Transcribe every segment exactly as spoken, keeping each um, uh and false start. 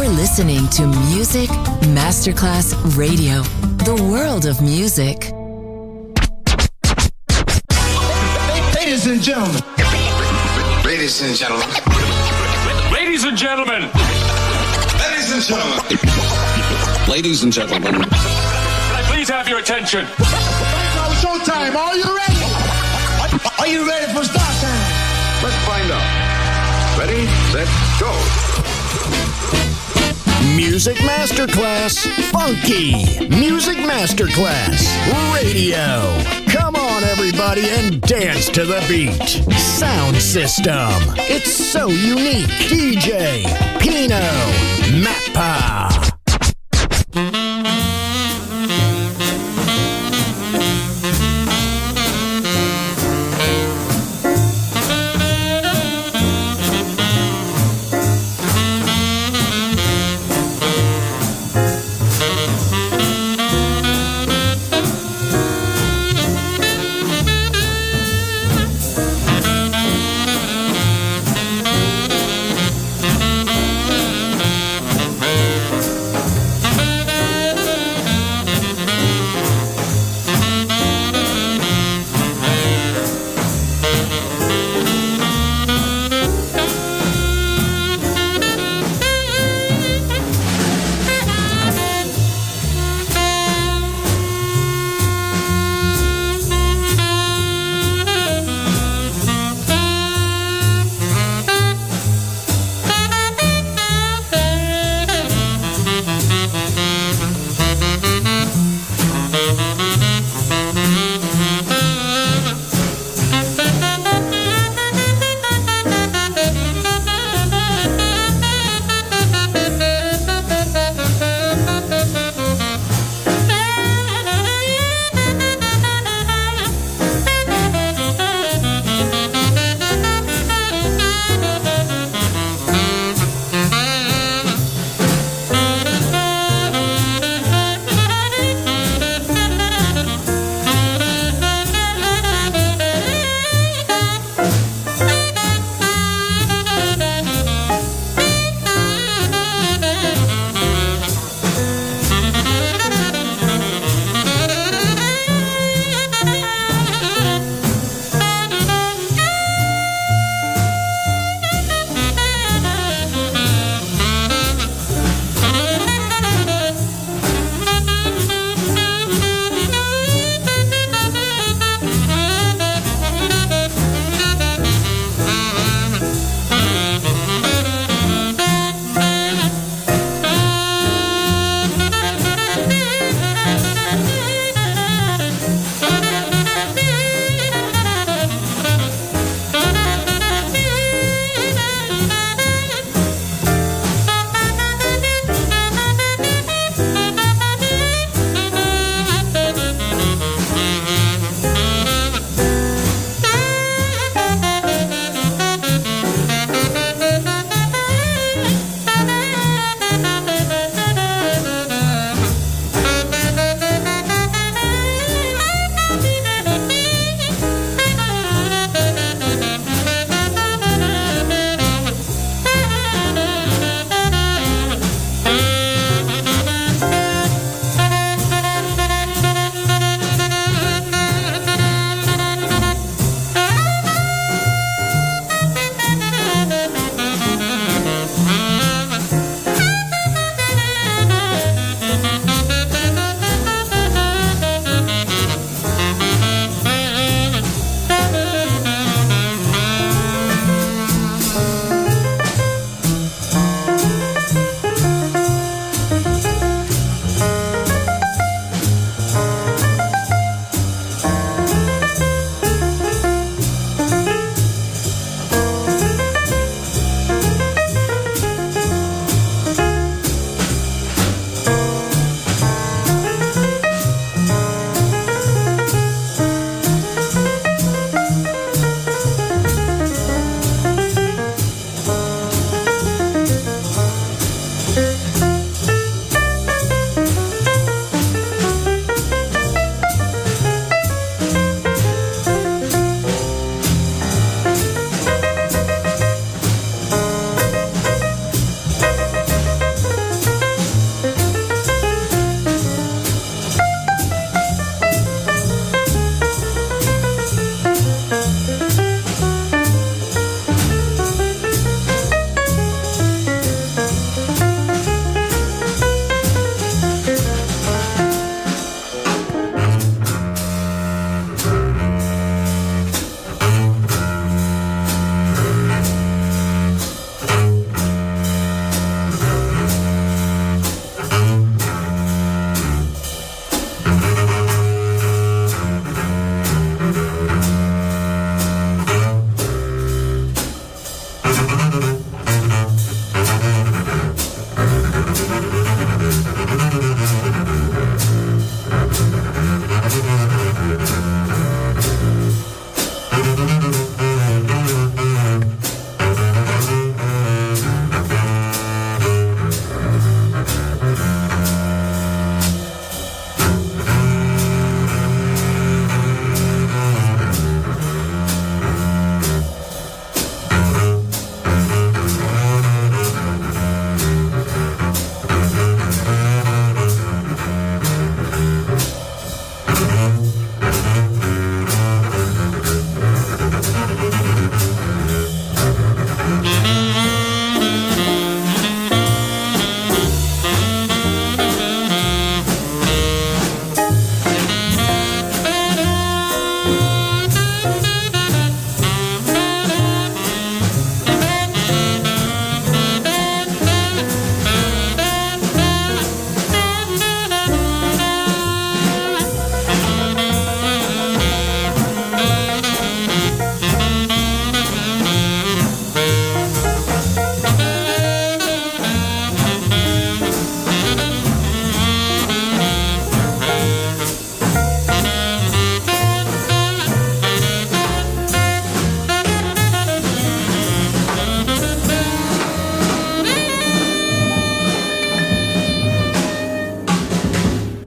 listening to Music Masterclass Radio, the world of music. Ladies and gentlemen. Ladies and gentlemen. Ladies and gentlemen. Ladies and gentlemen. Ladies and gentlemen. Can I please have your attention? Now showtime. Are you ready? Are you ready for start time? Let's find out. Ready, set, go. Music Masterclass Funky. Music Masterclass Radio. Come on, everybody, and dance to the beat. Sound system. It's so unique. D J Pino Mappa.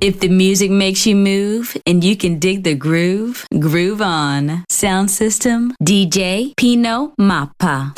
If the music makes you move and you can dig the groove, groove on. Sound system, D J Pino Mappa.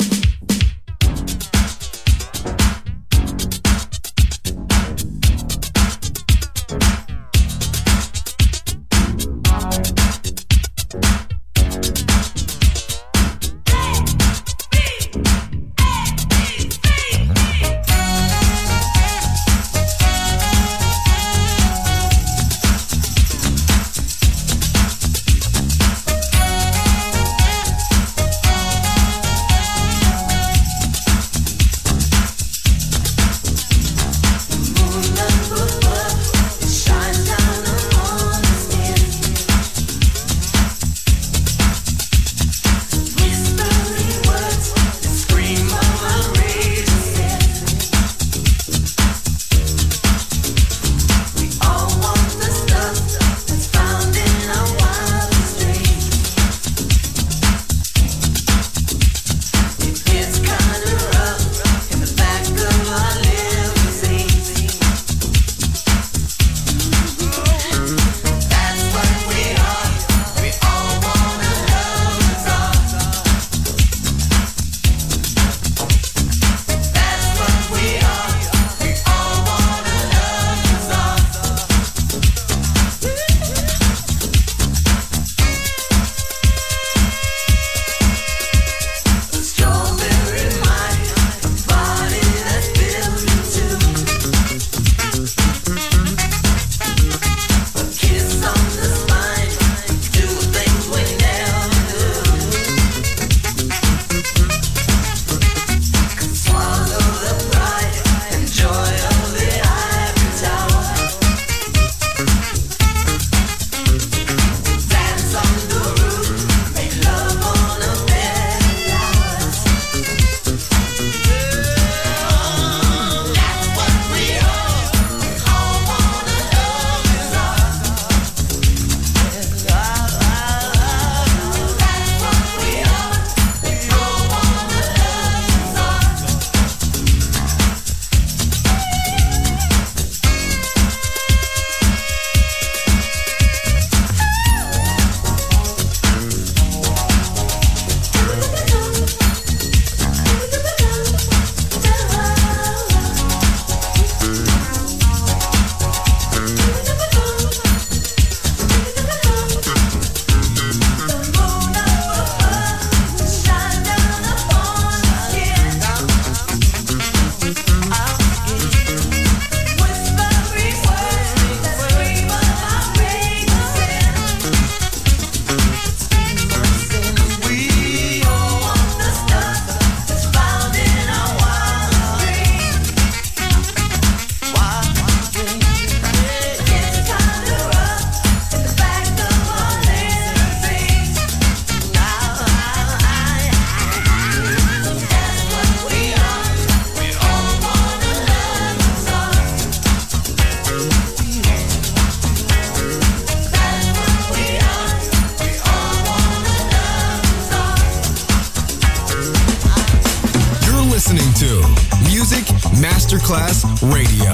Masterclass Radio,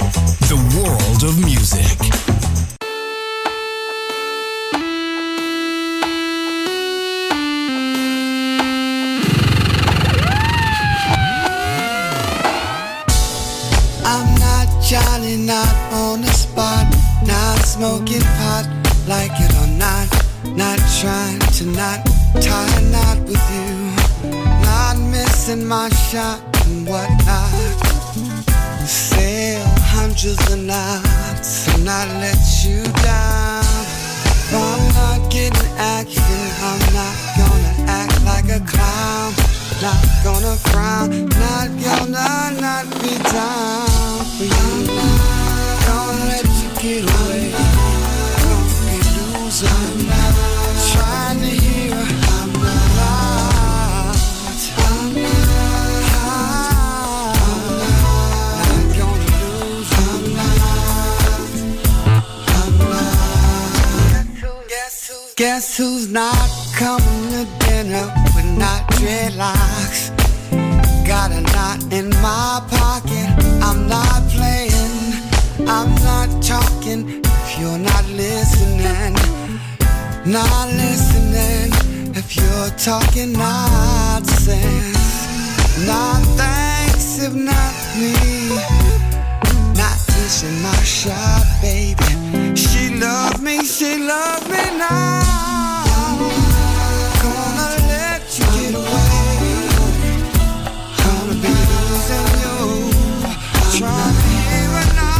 the world of music. I'm not Johnny, not on the spot, not smoking pot, like it or not, not trying to not tie a knot with you, not missing my shot and whatnot. Sail hundreds of knots and not let you down. If I'm not getting action, I'm not gonna act like a clown. Not gonna frown, not gonna not be down for you. I'm gonna let you get away. Don't be losing. I'm not trying to hear. I'm not. I'm not gonna lose. I'm not. I'm not. Guess who's Guess who's not coming to dinner with not dreadlocks? Got a knot in my pocket. I'm not playing. I'm not talking not listening if you're talking nonsense. Not thanks if not me, not missing my shot, baby. She loves me, she loves me now. Gonna let you get away. Gonna be losing you, trying to hear it now.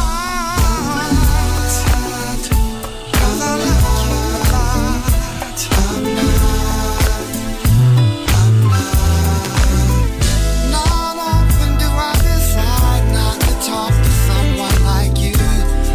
Cause I love you a lot. I'm not, I'm not. Not often do I decide not to talk to someone like you.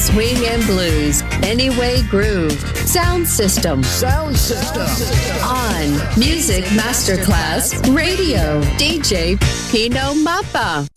swing and blues, Anyway Groove, Sound System. Sound System. On Music Masterclass Radio, D J Pino Mappa.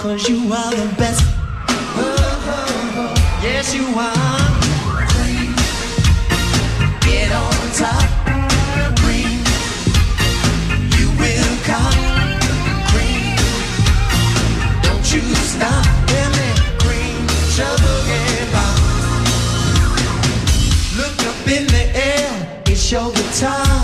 'cause you are the best. Oh, oh, oh. Yes, you are. Queen, get on top. Queen, you will come. Queen, don't you stop. Queen, trouble get by. Look up in the air, it's your guitar.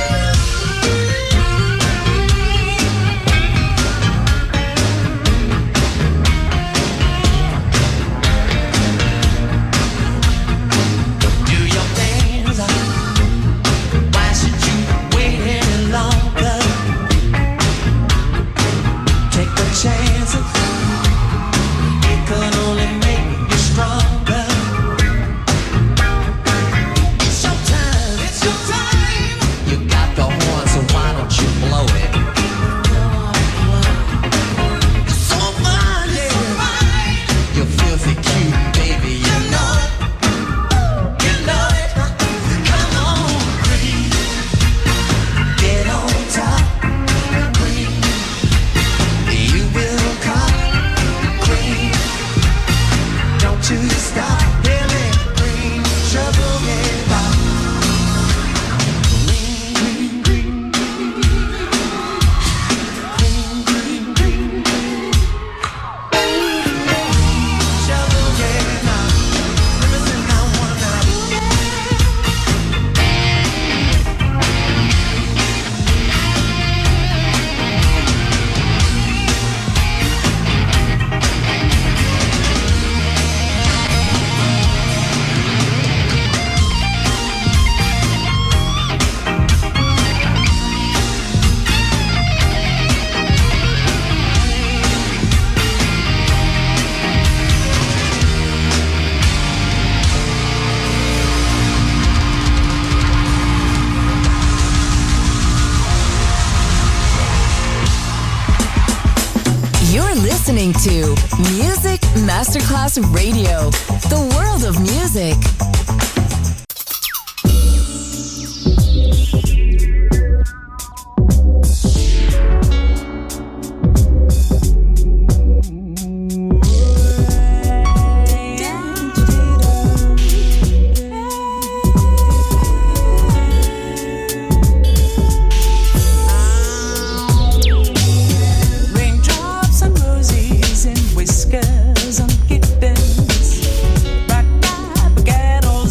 Listening to Music Masterclass Radio, the world of music. Whiskers on kittens, black battles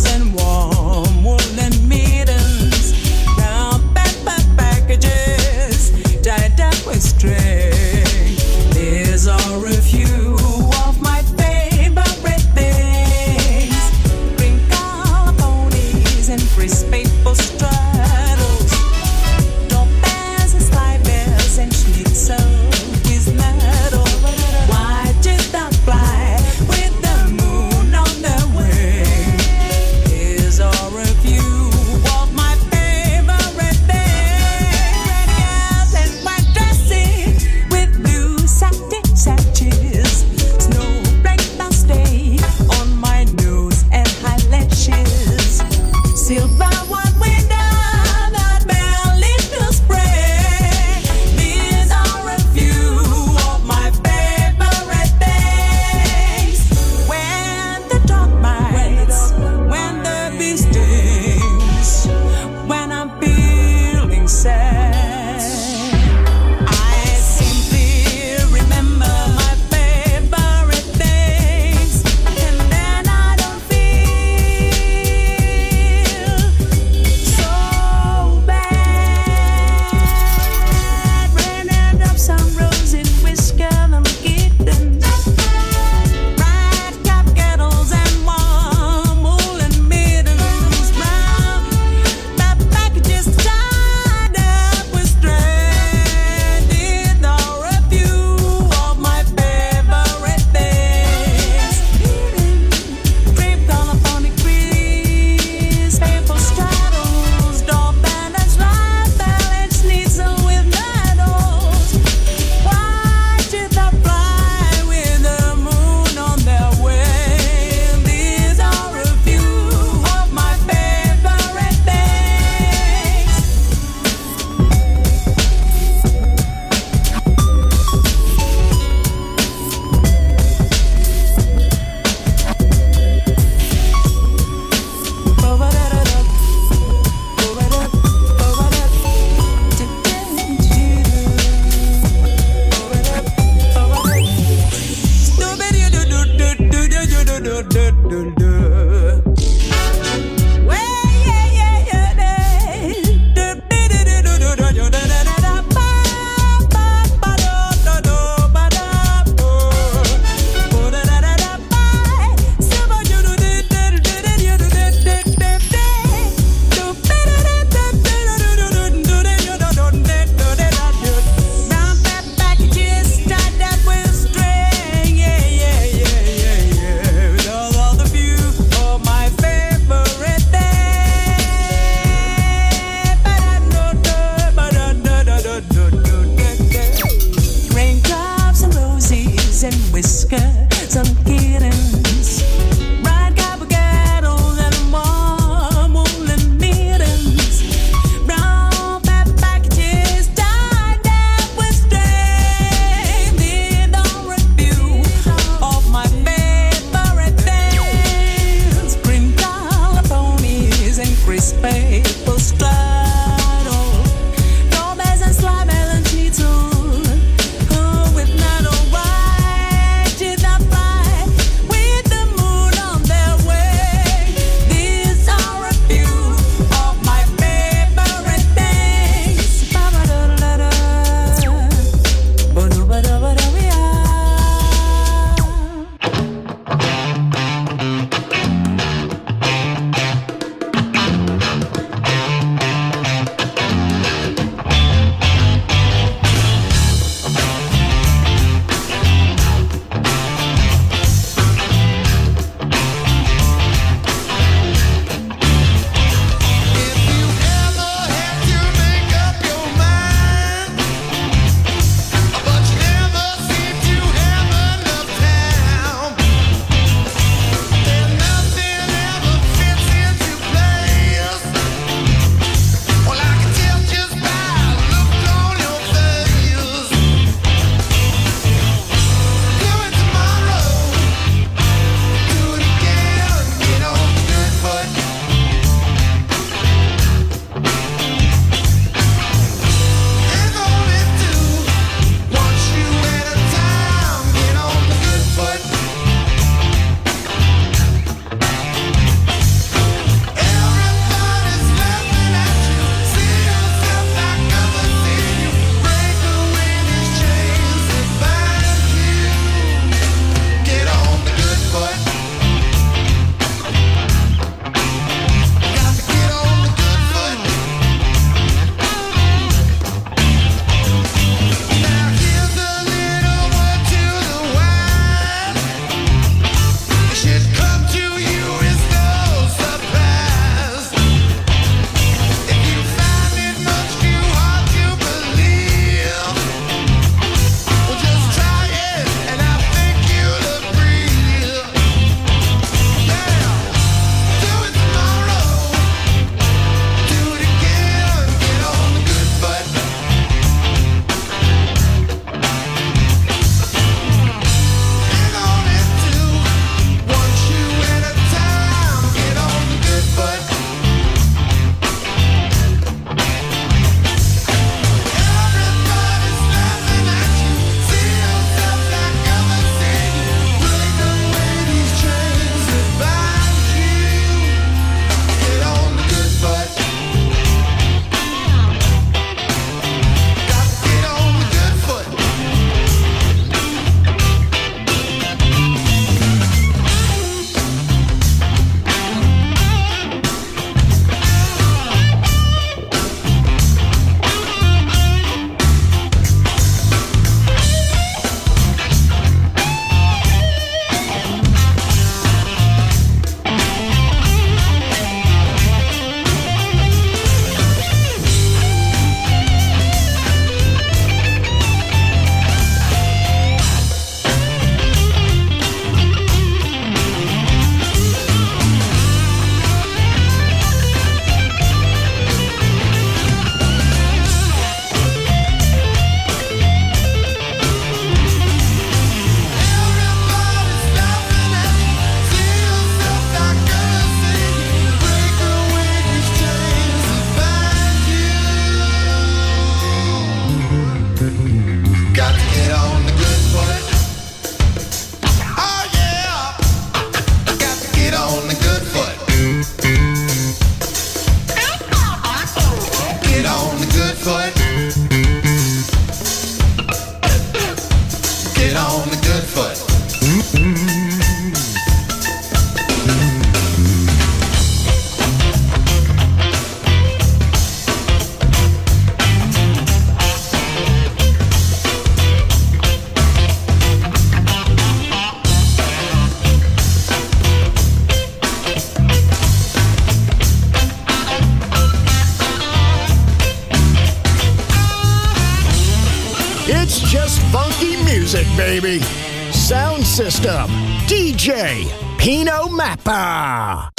It's just funky music, baby. Sound System, D J Pino Mappa.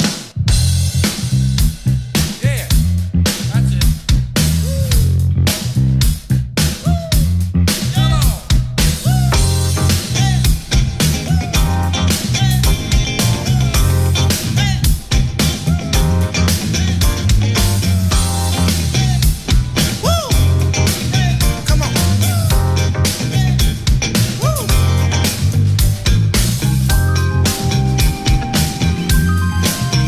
Woo!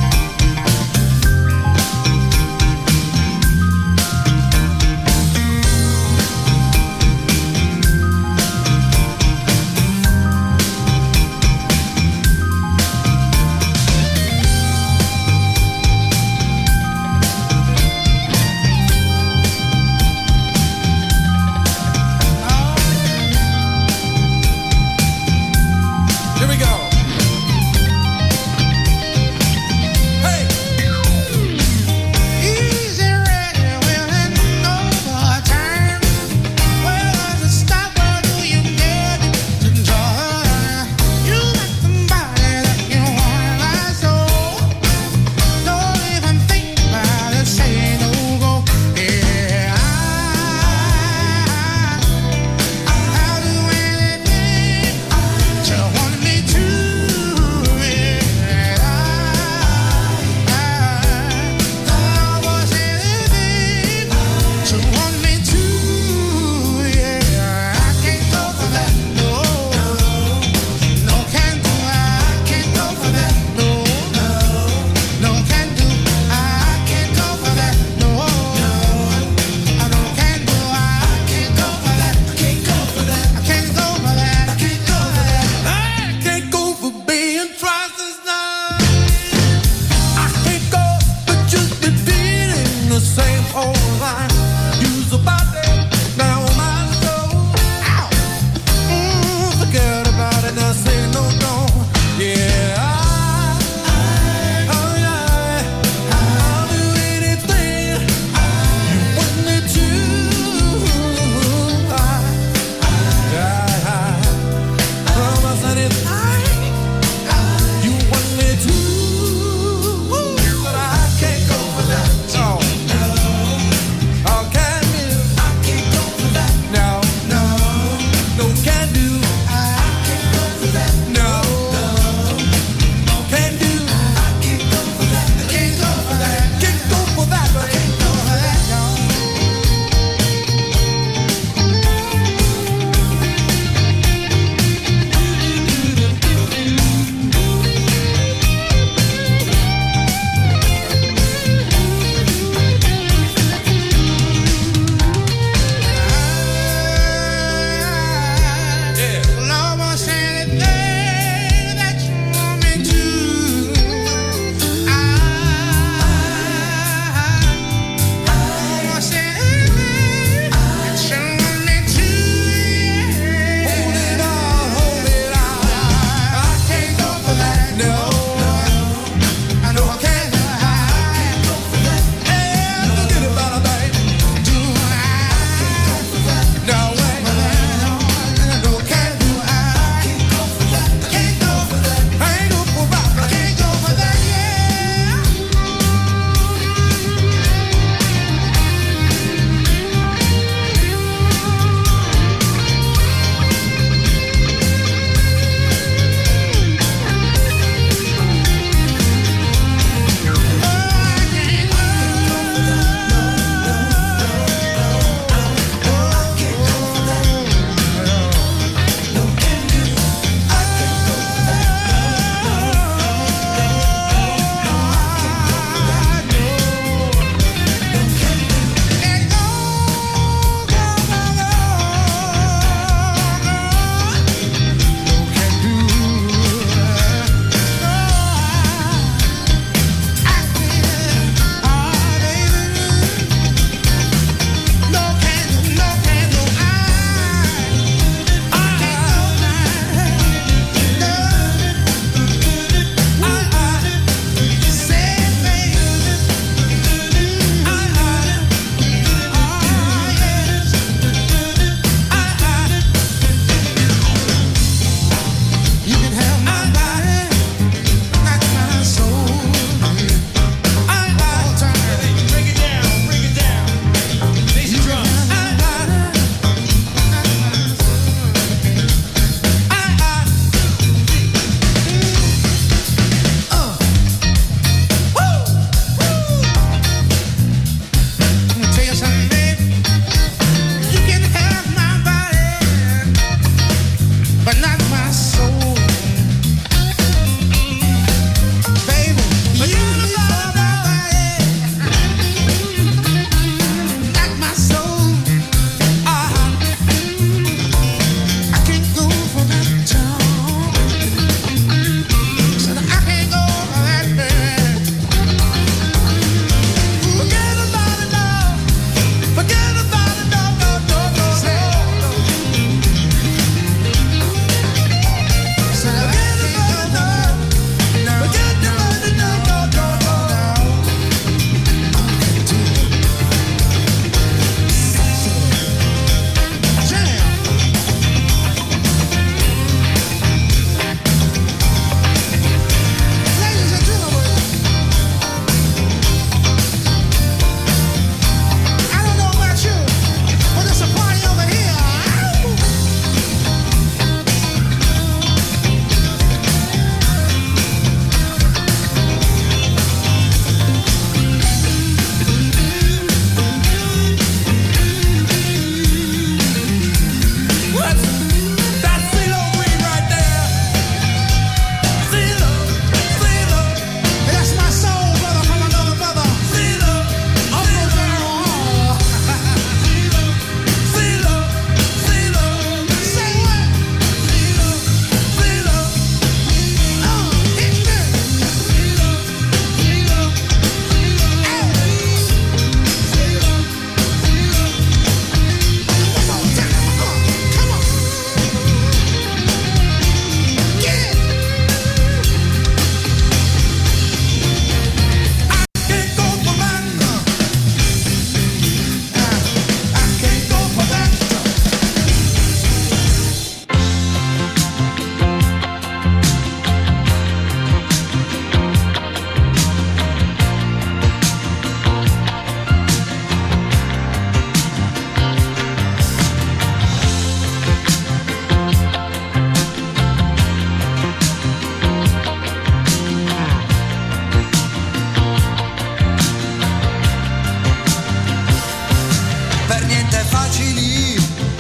facili,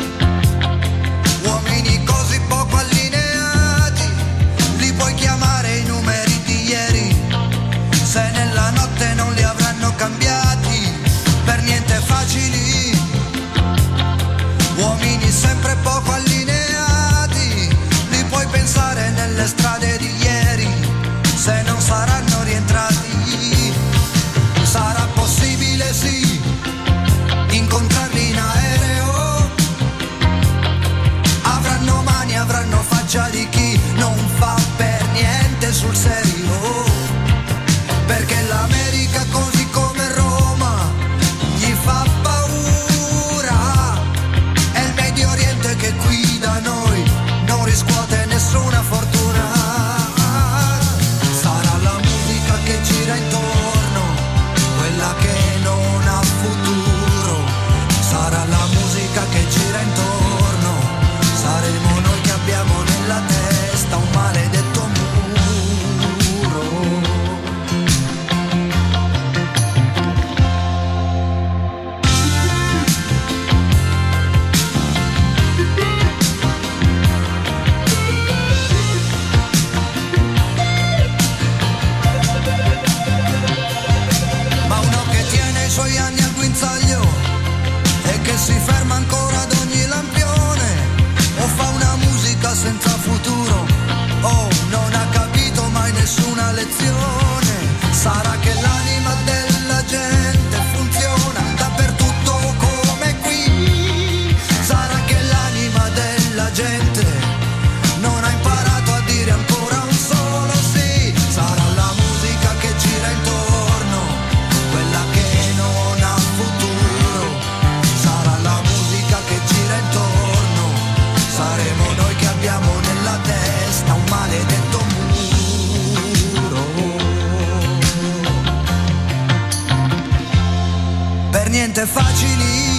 uomini così poco allineati, li puoi chiamare i numeri di ieri, se nella notte non li avranno cambiati, per niente facili, uomini sempre poco allineati, li puoi pensare nelle strade di ieri, se non saranno rientrati, sarà possibile sì incontrarli in aereo, avranno mani, avranno faccia di chi non fa per niente sul serio, perché l'America così come Roma gli fa paura, è il Medio Oriente che qui da noi non riscuote nessuna fortuna, sarà la musica che gira intorno, quella che non ha futuro, sarà la musica che gira intorno, saremo noi che abbiamo nella testa un maledetto muro. Ma uno che tiene i suoi anni al guinzaglio e che si ferma ancora ad ogni lampione, o fa una musica senza futuro, o non ha capito mai nessuna lezione, sarà che l'anima della gente funziona dappertutto come qui, sarà che l'anima della gente non ha imparato a dire ancora un solo sì, sarà la musica che gira intorno, quella che non ha futuro, sarà la musica che gira intorno, saremo noi che abbiamo nella testa un maledetto muro. Per niente facili,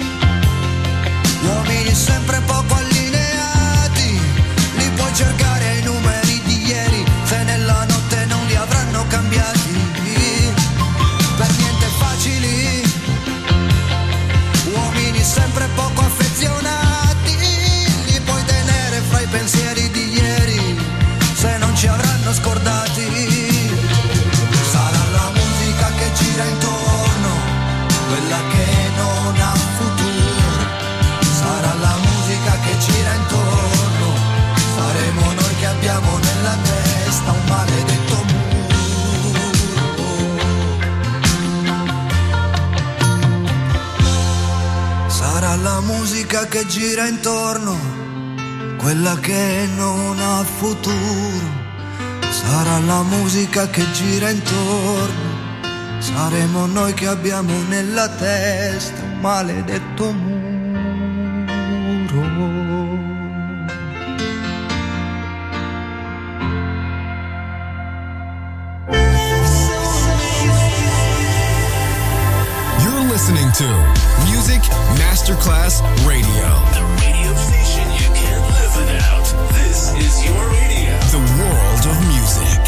uomini sempre poco allineati, li puoi cercare ai numeri di ieri, se nella notte non li avranno cambiati, per niente facili, uomini sempre poco affezionati, li puoi tenere fra i pensieri di ieri, se non ci avranno scordati, sarà la musica che gira intorno, quella che non ha futuro, sarà la musica che gira intorno, saremo noi che abbiamo nella testa un maledetto muro. Sarà la musica che gira intorno, quella che non ha futuro, sarà la musica che gira intorno, saremo noi che abbiamo nella testa un maledetto muro. You're listening to Music Masterclass Radio. The radio station you can't live without. This is your radio. The world of music.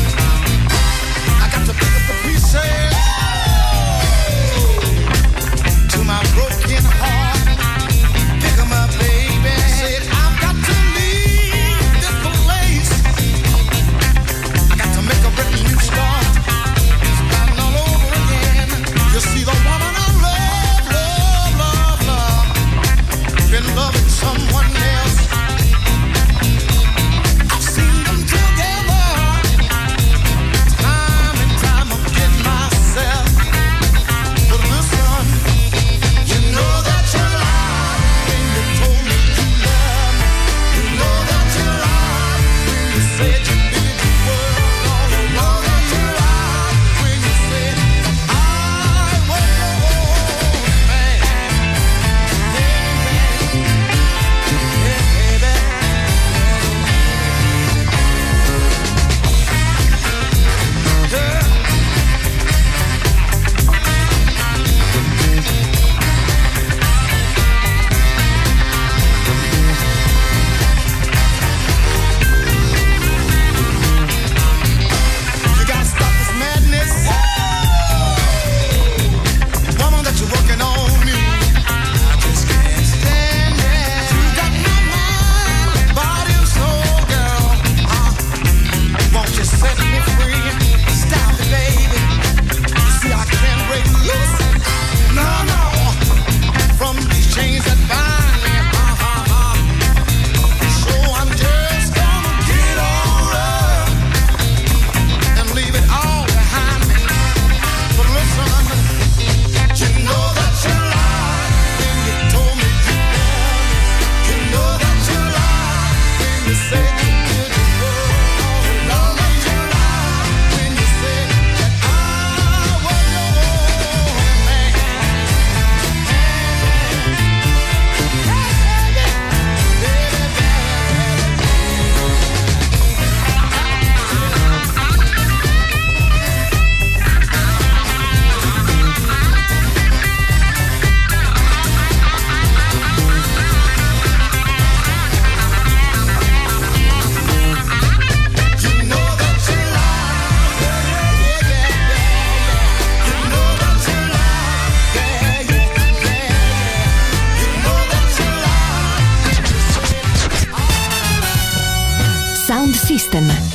I got to pick up the pieces.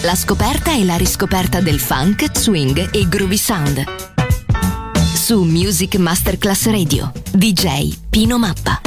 La scoperta e la riscoperta del funk, swing e groovy sound. Su Music Masterclass Radio, D J Pino Mappa.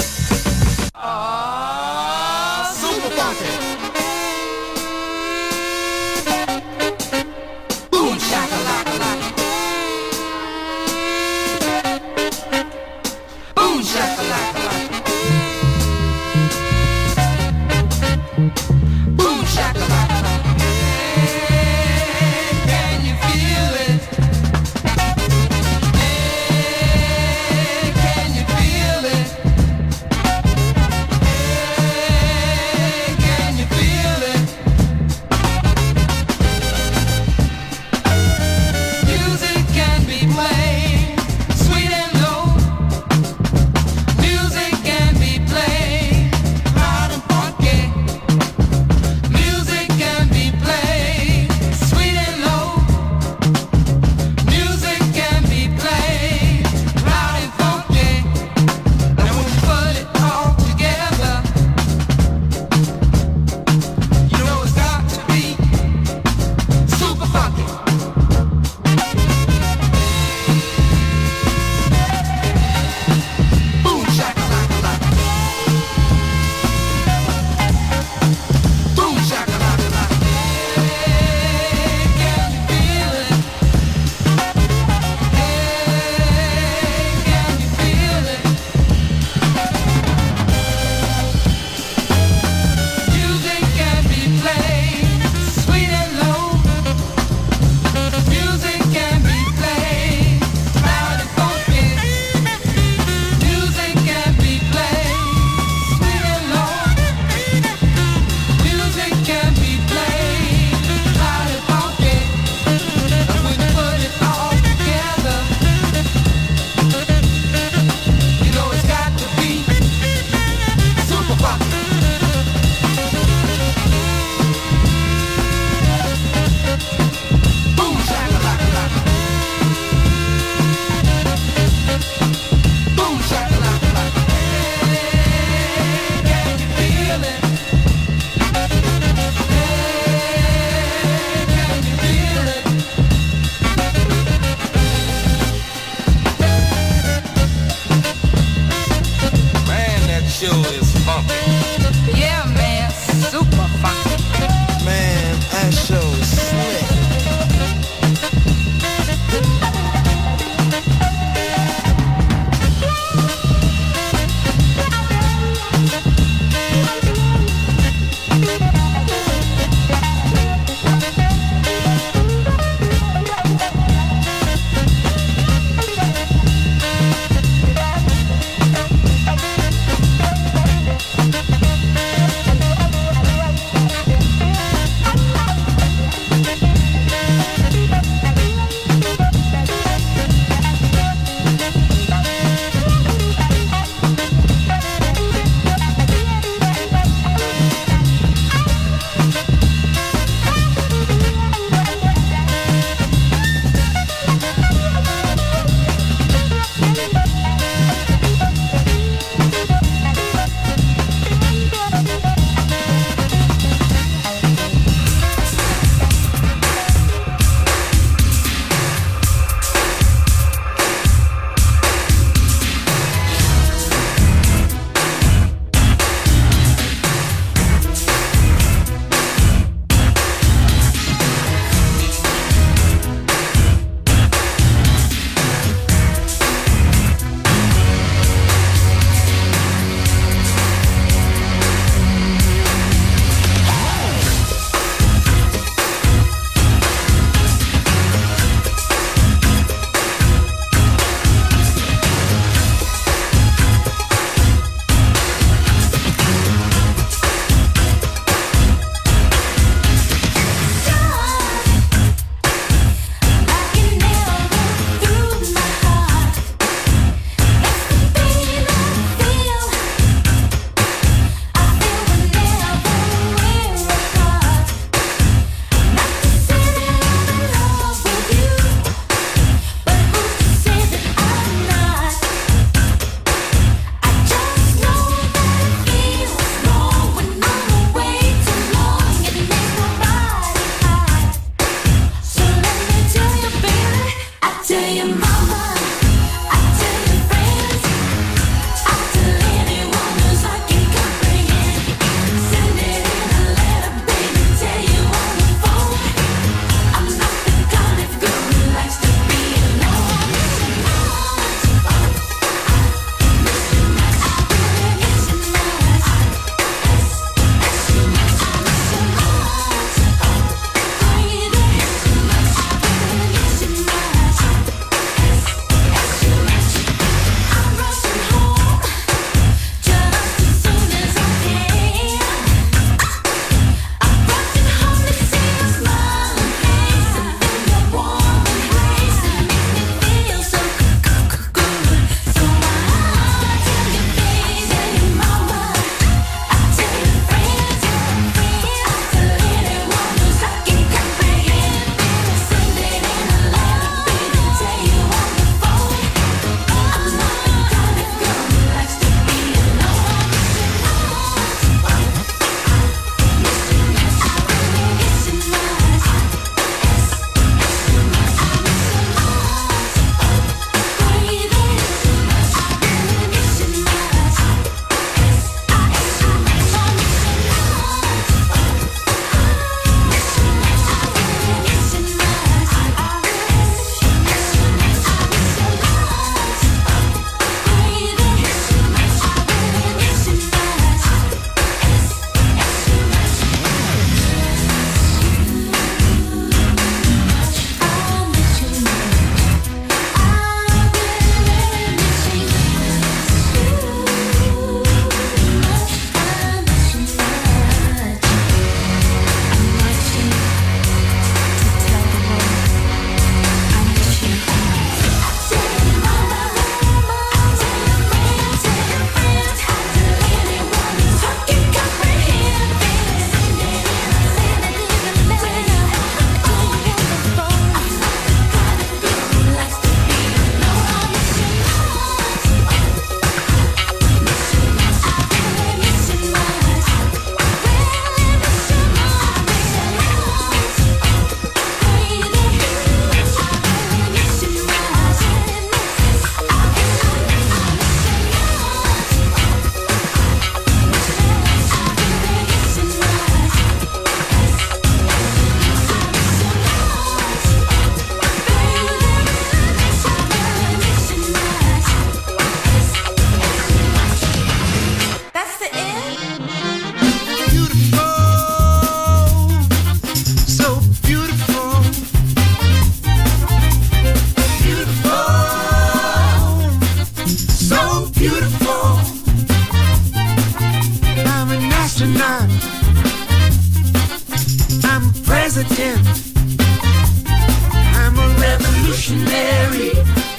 revolutionary.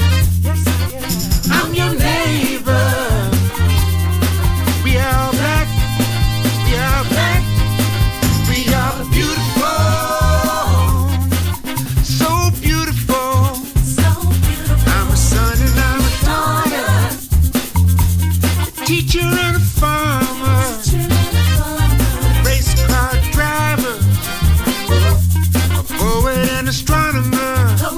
I'm your neighbor. We are black. We are black. We are beautiful. So beautiful. So beautiful. I'm a son and I'm a daughter. A teacher and a farmer. Race car driver. A poet and astronomer.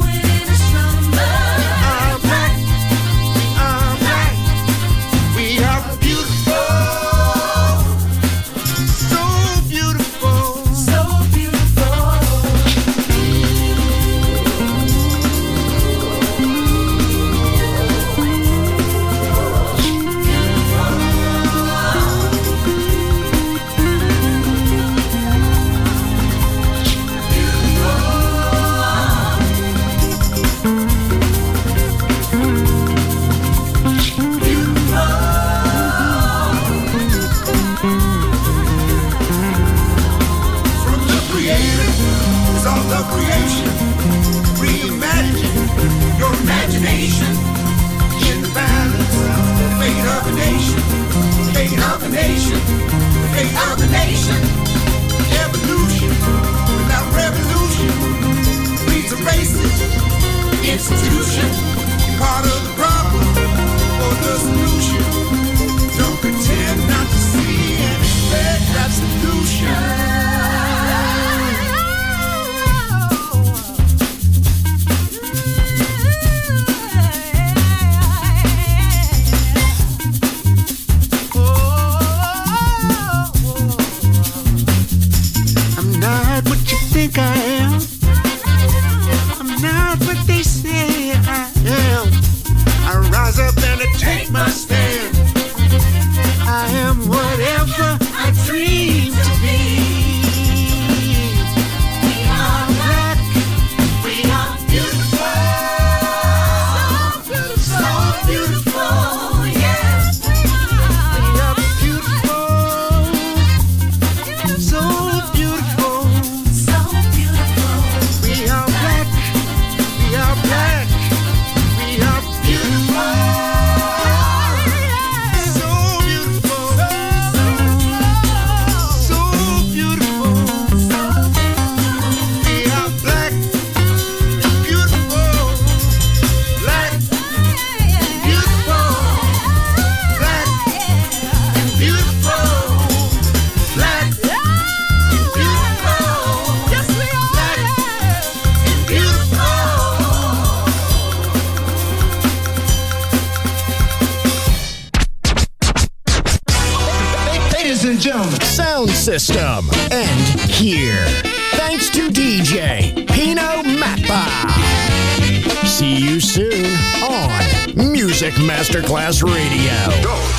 Institution, part of the problem or the solution. Don't pretend not to see and expect that solution. I'm not what you think I am. I'm not what they say I am. I rise up and I take my stand. I am whatever I dream to be. We are black. We are beautiful. So beautiful, yeah. We are beautiful. So beautiful. So beautiful. We are black. We are black. We are beautiful. So beautiful. So beautiful. We are black and beautiful. Black and beautiful. Black and beautiful. Black and beautiful. Yes, we are. Black and beautiful. Ladies and gentlemen, Sound system. And here. Thanks to D J Pino Mappa. See you soon on Music Masterclass Radio.